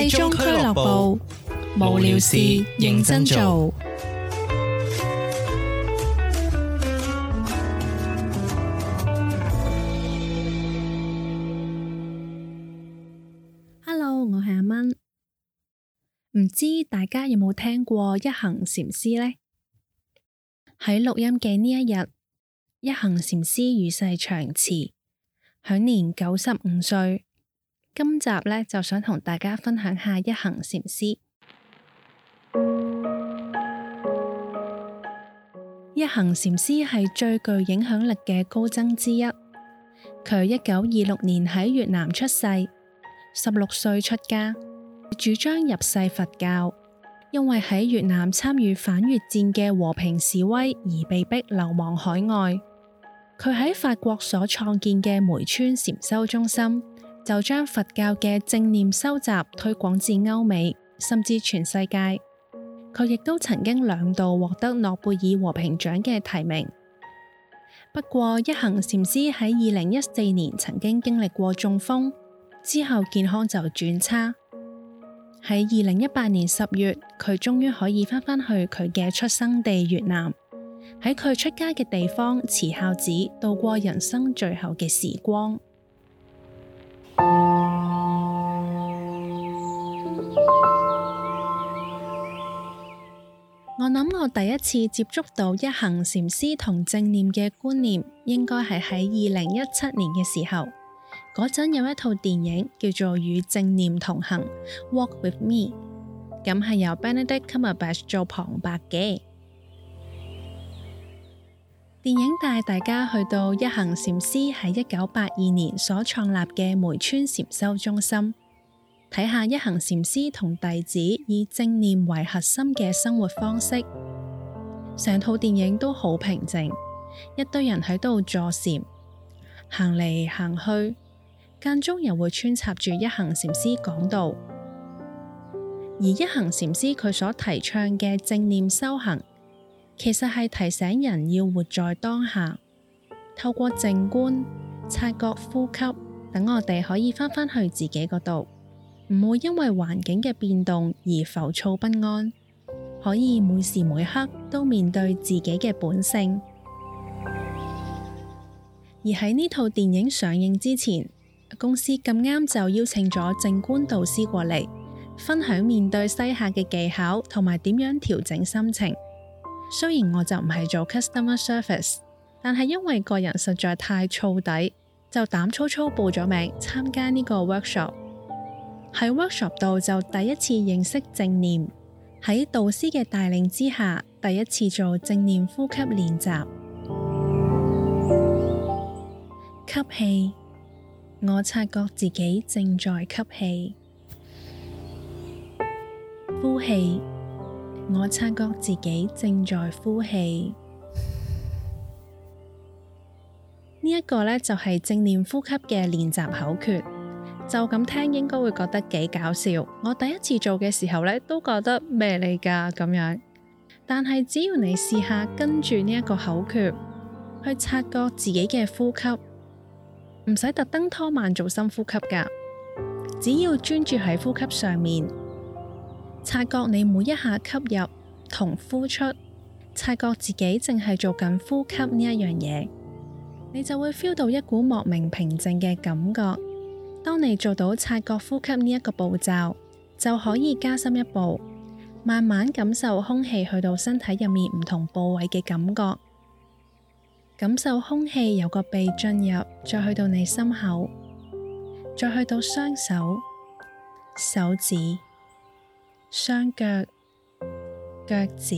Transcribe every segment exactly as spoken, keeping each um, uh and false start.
廢中俱樂部，無聊事認真做。Hello， 我係阿蚊。唔知大家有冇聽過一行禪師呢？喺錄音嘅呢一日，一行禪師與世長辭，享年九十五歲。今集呢，就想同大家分享下一行禪師。一行禪師係最具影響力嘅高僧之一。佢一九二六年喺越南出世，十六歲出家，主張入世佛教。因為喺越南參與反越戰嘅和平示威而被逼流亡海外。佢喺法國所創建嘅梅村禪修中心，就將佛教嘅正念修習推廣至歐美，甚至全世界。佢亦都曾經兩度獲得諾貝爾和平獎嘅提名。不過，一行禪師喺二零一四年曾經經歷過中風，之後健康就轉差。喺二零一八年十月，佢終於可以返返去佢嘅出生地越南，喺佢出家嘅地方慈孝寺度過人生最後嘅時光。我諗我第一次接觸到一行禪師同正念嘅觀念，應該係喺二零一七年嘅時候。嗰陣有一套電影叫做《與正念同行》（Walk with Me），咁係由 Benedict Cumberbatch 做旁白嘅。電影帶大家去到一行禪師喺一九八二年所創立嘅梅村禪修中心，睇下一行禪師同弟子以正念為核心嘅生活方式。成套電影都好平靜，一堆人喺度坐禪，行嚟行去，間中又會穿插住一行禪師講道。而一行禪師佢所提倡嘅正念修行，其實係提醒人要活在當下，透過靜觀、察覺呼吸，等我哋可以返返去自己嗰度，唔會因為環境嘅變動而浮躁不安，可以每時每刻都面對自己嘅本性。而喺呢套電影上映之前，公司咁啱就邀請咗靜觀導師過嚟，分享面對西客嘅技巧同埋點樣調整心情。雖然我就唔係做 customer service， 但係因為個人實在太燥底，就膽粗粗報咗名參加呢個 workshop。喺 workshop 度就第一次認識正念，喺導師嘅帶領之下，第一次做正念呼吸練習。吸氣，我察覺自己正在吸氣；呼氣，我察覺自己正在呼氣。呢一個呢，就係正念呼吸嘅練習口訣，就咁聽應該會覺得幾搞笑。我第一次做嘅時候呢，都覺得咩嚟㗎咁樣。但係只要你試下跟住呢一個口訣去察覺自己嘅呼吸，唔使特登拖慢做深呼吸㗎，只要專注喺呼吸上面。察覺你每一下吸入同呼出，察覺自己淨係做緊呼吸呢一樣嘢，你就會 feel 到一股莫名平靜嘅感覺。當你做到察覺呼吸呢一個步驟，就可以加深一步，慢慢感受空氣去到身體入面唔同部位嘅感覺，感受空氣由個鼻進入，再去到你心口，再去到雙手、手指、雙腳、腳趾。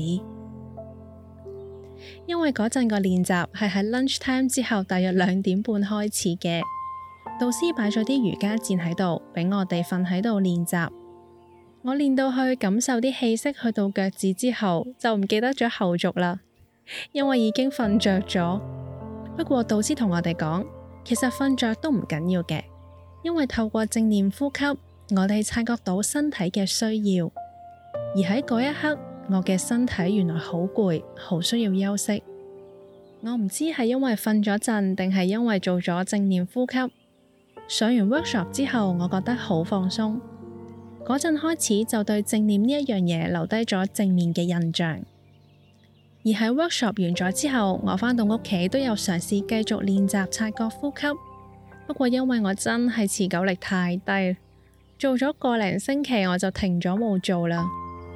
因為嗰陣個練習係喺 lunch time 之後大約兩點半開始嘅，導師擺咗啲瑜伽墊喺度俾我哋瞓喺度練習。我練到去感受啲氣息去到腳趾之後，就唔記得咗後續啦，因為已經瞓着咗。不過導師同我哋講，其實瞓着都唔緊要嘅，因為透過正念呼吸，我哋察覺到身體嘅需要。而喺嗰一刻，我嘅身體原來好攰，好需要休息。我唔知係因為瞓咗陣，定係因為做咗正念呼吸。上完 workshop 之後，我覺得好放鬆。 嗰陣開始就對正念呢一樣嘢留低咗正面嘅印象。而喺 workshop 完咗之後，我返到屋企都有嘗試繼續練習察覺呼吸。不過因為我真係持久力太低，做咗個零星期我就停咗冇做啦。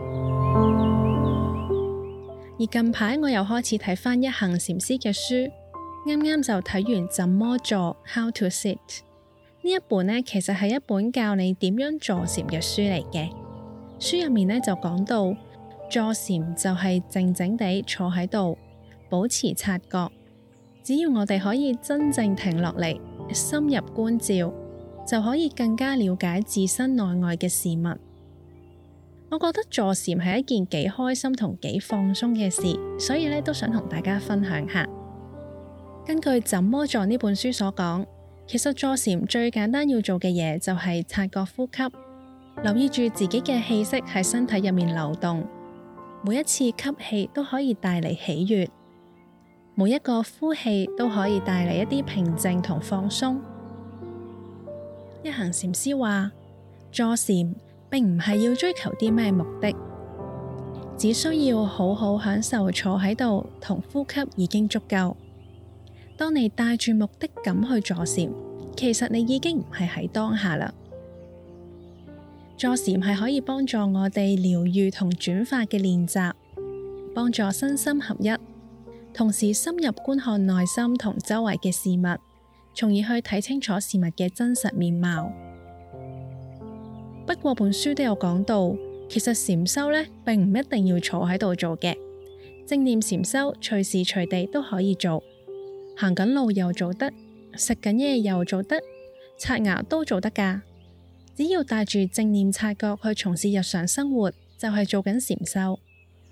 而近排我又開始睇返一行禪師嘅書，啱啱就睇完《怎麼坐 How to Sit》呢一本呢，其實係一本教你點樣坐禪嘅書嚟嘅。書入面呢就講到，坐禪就係靜靜地坐喺度，保持察覺。只要我哋可以真正停落嚟，深入觀照，就可以更加了解自身內外嘅事物。我覺得坐禪係一件幾開心同幾放鬆嘅事，所以呢都想同大家分享下。根據《怎麼坐》呢本書所講，其實坐禪最簡單要做嘅嘢就係察覺呼吸，留意住自己嘅氣息喺身體入面流動，每一次吸氣都可以帶嚟喜悅，每一個呼氣都可以帶嚟一啲平靜同放鬆。一行禪師話，坐禪並唔係要追求啲咩目的，只需要好好享受坐喺度同呼吸已經足夠。當你帶住目的感去坐禪，其實你已經唔係喺當下啦。坐禪係可以幫助我哋療癒同轉化嘅練習，幫助身心合一，同時深入觀看內心同周圍嘅事物，從而去睇清楚事物嘅真實面貌。不過本書都有講到，其實禪修呢並唔一定要坐喺度做嘅，正念禪修隨時隨地都可以做，行緊路又做得，食緊嘢又做得，刷牙都做得㗎。只要帶住正念察覺去從事日常生活，就係做緊禪修。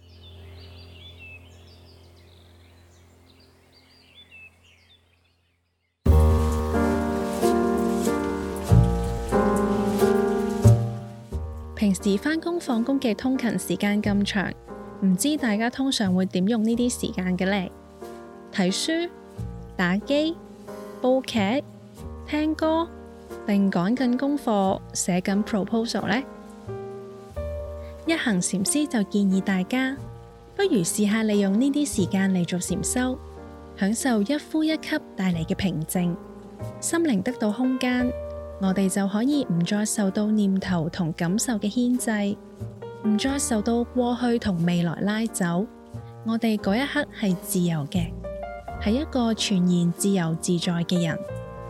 平時返工放工嘅通勤時間咁長，唔知大家通常會點用呢啲時間嘅呢？睇書、打機、煲劇、聽歌，定趕緊功課、寫緊 proposal 呢？一行禪師就建議大家，不如試下利用呢啲時間嚟做禪修，享受一呼一吸帶嚟嘅平靜，心靈得到空間。我哋就可以唔再受到念頭同感受嘅牽制，唔再受到過去同未來拉走。我哋嗰一刻係自由嘅，係一個全然自由自在嘅人。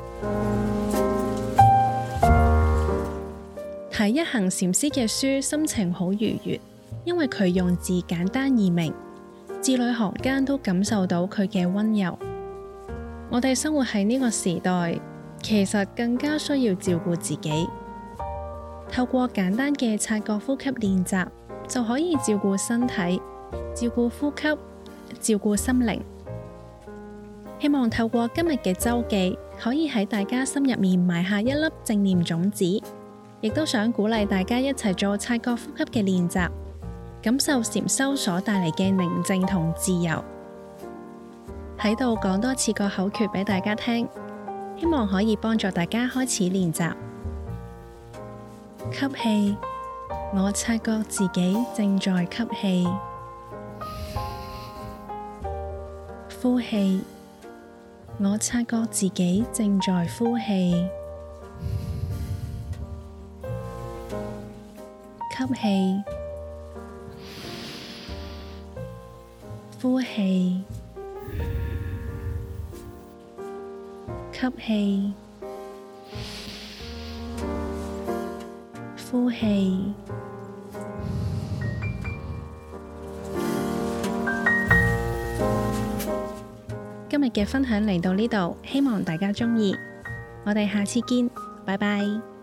睇一行禪師嘅書，心情好愉悅，因為佢用字簡單易明，字裏行間都感受到佢嘅溫柔。我哋生活喺呢個時代，其實更加需要照顧自己，透過簡單嘅察覺呼吸練習，就可以照顧身體、照顧呼吸、照顧心靈。希望透過今日嘅周記，可以喺大家心入面埋下一粒正念種子，亦都想鼓勵大家一齊做察覺呼吸嘅練習，感受禪修所帶嚟嘅寧靜同自由。喺度講多次個口訣俾大家聽，希望可以幫助大家開始練習。吸氣，我察覺自己正在吸氣。呼氣，我察覺自己正在呼氣。吸氣，呼氣。吸氣，呼氣。今日嘅分享嚟到呢度，希望大家鍾意。我哋下次見，拜拜。